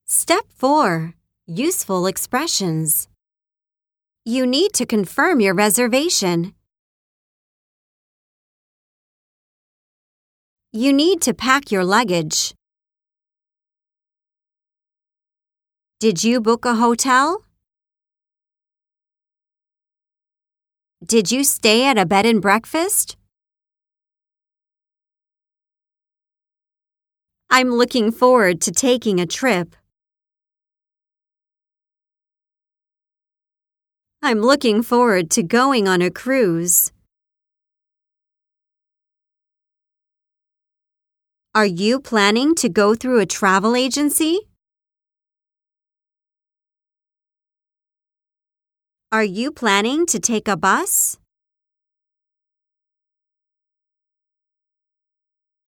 Step 4. Useful expressions. You need to confirm your reservation. You need to pack your luggage. Did you book a hotel? Did you stay at a bed and breakfast? I'm looking forward to taking a trip. I'm looking forward to going on a cruise. Are you planning to go through a travel agency? Are you planning to take a bus?